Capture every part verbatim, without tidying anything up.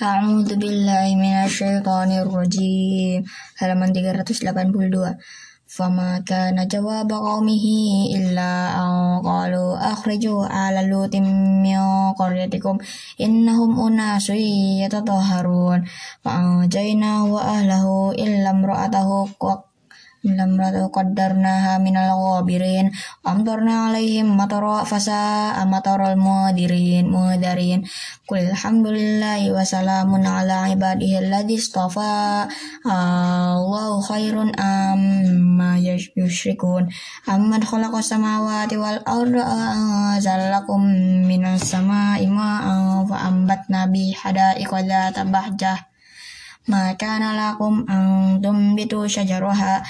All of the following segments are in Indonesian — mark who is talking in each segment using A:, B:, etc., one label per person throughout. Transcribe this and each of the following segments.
A: A'udzu billahi minasyaitonir rajim. Halaman tiga ratus delapan puluh dua. Fama kana jawaba qaumihi illa an qalu akhriju ala lutim min qaryatikum innahum unasun yatatahharun fa anjaynahu wa ahlahu illa imra'atahu Lamratu qaddarnaha minal ghabirin amtarna alaihim matara fasa'a matarul mudirin mudarin qul alhamdulillahi wa salamun ala ibadihi alladzi istafa Allahu khairun amma yushrikun amman khalaqas samawati wal arda anzalakum minas samai ma'an fa ambatna bihi hada'iqa dzata bahjah ma kana lakum an tumbitu syajaraha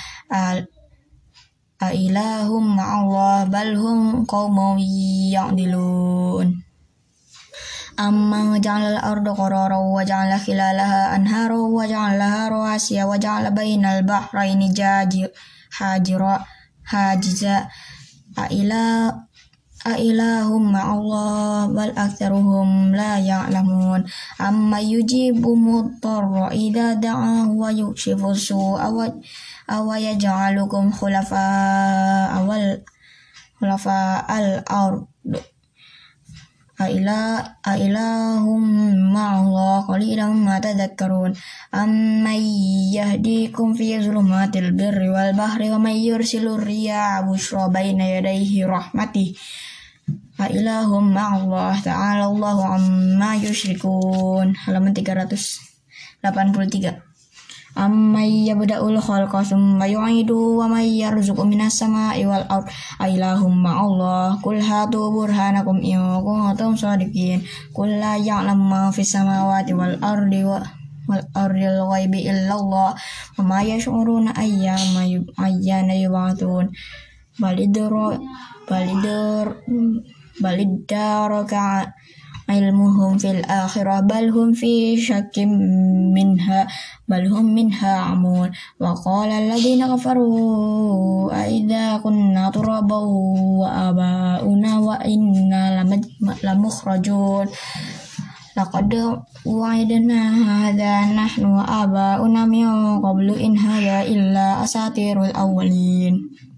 A: a ilahum ma'allah bal hum qaumun ya'dilun amma ja'ala al-arda qararan wa ja'ala khilalaha anhara wa ja'ala laha rawasiya wa ja'ala bainal bahrayni hajira hajiza a ila A ilahum ma'allah bal aktsaruhum la ya'lamun amma yujibu mudtarra idza da'ahu wa yukshifu su'a wa aw yaj'alukum khulafa awal khulafa al-ard a ila a ilahum ma'allah qalilan ma tadhakkarun amma yahdikum fi zulumatil birri wal bahri wa may yursilur riyaha bushra baina yadayhi rahmatih a ilahum ma'allah ta'ala Allahu amma yusyrikun. Halaman tiga ratus delapan puluh tiga. Amma yabda'ul khalqa tsumma yu'idu wa may yarzuqu minas sama'i wal ard a ilahum ma'allah qul hatu burhanakum in kuntum shadiqin qul la ya'lamu ma fis samawati wal ardi wa wal ardil ghaibi illallah wa ma yash'uruna ayyama ayyana yub'atsun balidur balidur balidaraka ilmuhum fil akhirah bal hum fi syakkim minha bal hum minha amun wa qala alladhina kafaru a idza kunna turaban wa abauna wa inna lamukhrajun laqad wa'idna hadha nahnu wa abauna min qablu in hadha illa asatirul awwalin.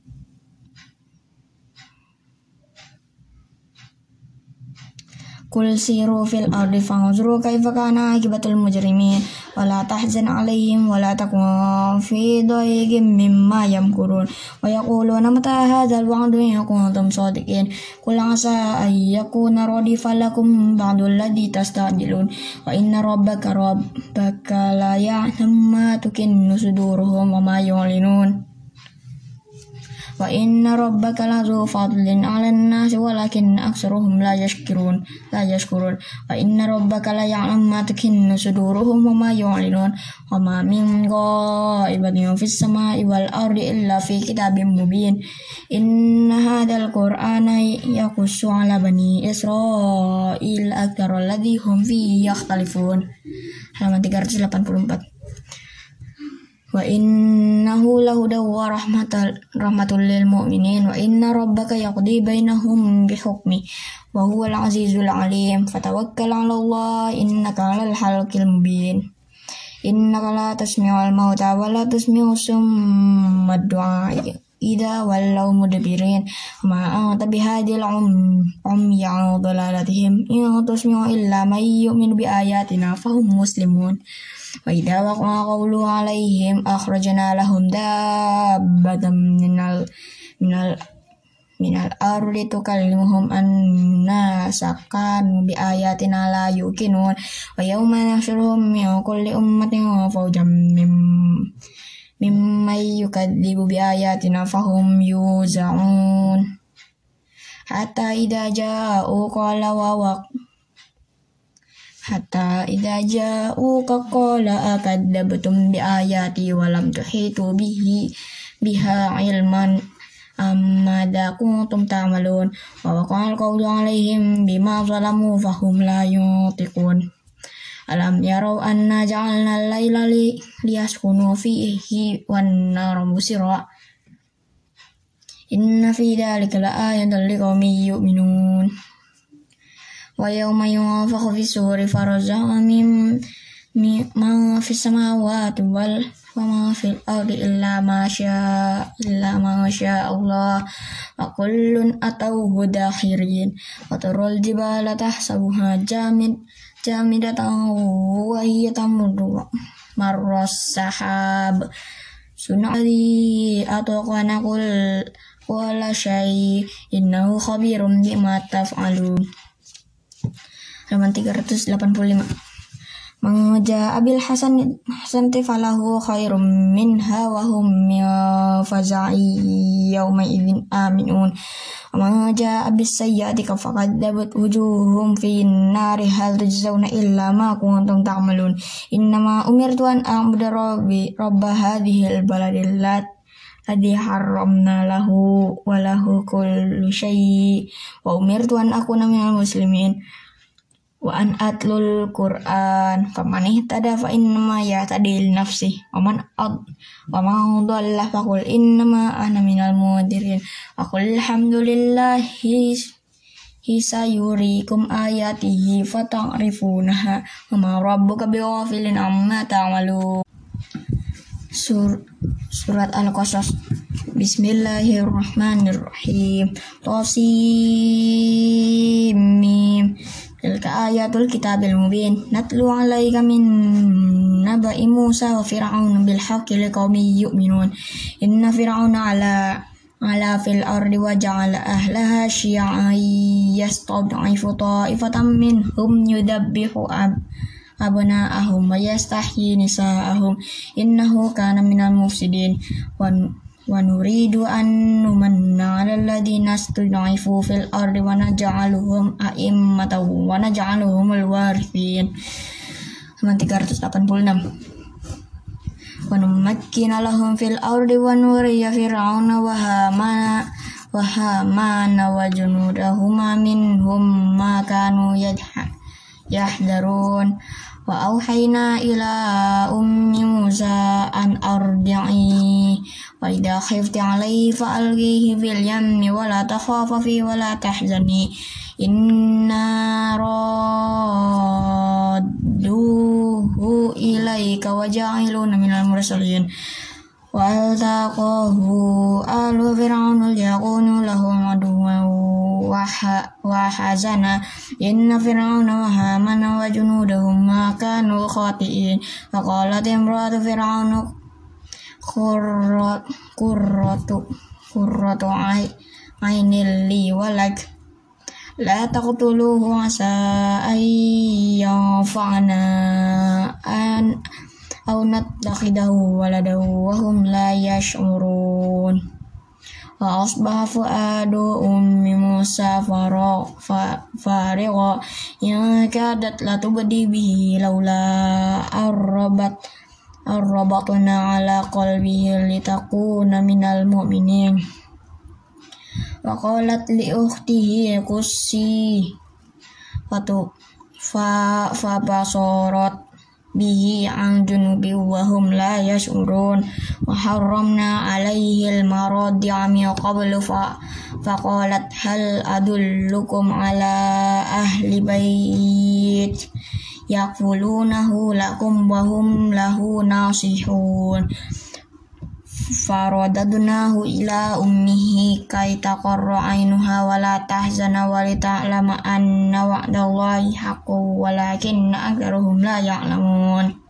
A: Qul siru fil ardi fanzuru kaifa kana akibatul mujrimin wala tahzan alaihim wala takun fi dayqin mimma yamkurun wa yaquluna mata hadzal wa'du in kuntum shadiqin qul asa ay yakuna radifa lakum ba'du alladhi tastajilun wa inna rabbaka rabbaka la ya'lamu ma tukinnu suduruhum wa ma yu'linun wa inna rabbaka lazu fadlin 'alan nasi walakin aktsaruhum la yashkurun la yashkurun wa inna rabbaka la ya'lamu ma tukinnu suduruhum wa ma yu'linun wa ma min ghaibatin fis samai wal ardi illa fi kitabim mubin inna hadzal qur'ana yaqussu 'ala bani israil aktsara alladhi hum fihi yakhtalifun. Halaman tiga ratus delapan puluh empat. Wa innahu lahudaw wa rahmatal rahmatul lil mu'minin wa inna rabbaka yaqdi bainahum bihukmi wa huwal azizul alim fatawakkal 'ala Allah innaka 'alal haqqil mubin innaka la tasmi'ul mauta wa la tusmi'us summa du'a idza wallaw mudbirin ma anta bihadil um umya dalalatihim in tusmi'u illa may yu'minu bi ayatina fahum muslimun wa idza waqa'a qawlu 'alaihim akhrajna lahum dabbatan minal minal minal ardi tukallimuhum anna sakan bi ayatina la yuqinun wa yawma nahsyuruhum min kulli ummatin fawjam mim mimma yukadzibu bi ayatina fahum yuz'un hatta idza ja'u qala wa waq hatta idza ja'uka qala akadzabtum bi ayati wa lam tuhitu bihi biha ilman amma da kuntum ta'malun wa waqa'al qawlu 'alaihim bima zalamu fahum la yutiqun alam yarau anna ja'alna al-laila liyaskunu fihi wan nara musira inna fi dzalika la ayatan liqaumin yu'minun wa yawma yunfakhu fis suri faraja'a mim ma fis samawati wal wa ma fil ardi illa ma syaa illa ma syaa Allah wa kullun atawhu dakhirin wa tarul jibala tahsabuha jamid jamidatan wa hiya tamurru marras sahab sunali ataqana kul wala syai innahu khabirum bima taf'alun. Halaman tiga ratus delapan puluh lima. Mangja abil hasan hasan falahu khairum minha wa hum faza'i yawma idzin aminun. Mangja abis sayyati faqadzabat wujuhum fin nari hal tujzauna illa ma kuntum ta'malun. Innama umirtu an a'budu rabbi rabb hadhil baladil lat ladzi haramna lahu wa lahu kullu syai' wa umirtu an akuna minal muslimin wa an atlul Qur'an faman ihtada fa innama yahtadi li nafsihi wa man ad wa man dhalla faqul innama ana minal mundirin wa qul alhamdulillahi hisayurikum ayatihi fata'rifunaha wa ma rabbuka bighafilin amma ta'malun. Sur Surat Al-Qasas. Bismillahirrahmanirrahim. Tasim mim. Tilka ayatul kitabil mubin. Natlu 'alaika min naba'i Musa wa Fir'aun bil haqqi liqaumin yu'minun. Inna Fir'auna 'ala 'ala fil ardi wa ja'ala ahlaha syi'an yastad'ifu ta'ifatan minhum yudabbihu ab abna'ahum wa yastahyi nisa'ahum innahu kana minal mufsidin wa wa nuridu an numanna 'alal ladzina istud'ifu fil ardi wa naj'aluhum a'immatan wa naj'aluhumul warithin. tiga ratus delapan puluh enam. Wa numakkina lahum fil ardi wa nuriya fir'auna wa hamana wa hamana wa junudahuma minhum ma kanu yadha yahdarun. Wa auhayna ila ummi Musa an ardi'i wa idha khifti 'alayhi fa alqihi fil yammi wa la takhafa fi wa la tahzani inna radduhu ilayka wa ja'iluna minal mursalin. Wa altaqahu alu fir'auna liyakunu lahum aduwwan wa hazana inna fir'auna wa hamana wa junudahum ma kanu khati'in. Wa qalat imratu fir'auna qurratu qurratu qurratu aynil li walak la taqtuluhu asa ayyanfa'ana an aw nattakhidahu waladahu wa hum la yash'urun. Wa asbaha fu'adu ummi Musa farigha in kadat la tubdi bihi laula arrabat arrabatna ala qalbihi litakuna minal mu'minin. Wa qalat li ukhtihi qussi fatu fa fa basarat bihi an junubi wa hum la yash'urun. Wa harramna alayhi al-maradi'a min qablu fa faqalat hal adullukum ala ahli bait yakfulunahu lakum wa hum lahu nasihun. Faradadnahu ila ummihi kay taqarra aynuha wa la tahzana wa li ta'lama anna wa'dallahi haqqun walakinna aktharuhum la ya'lamun.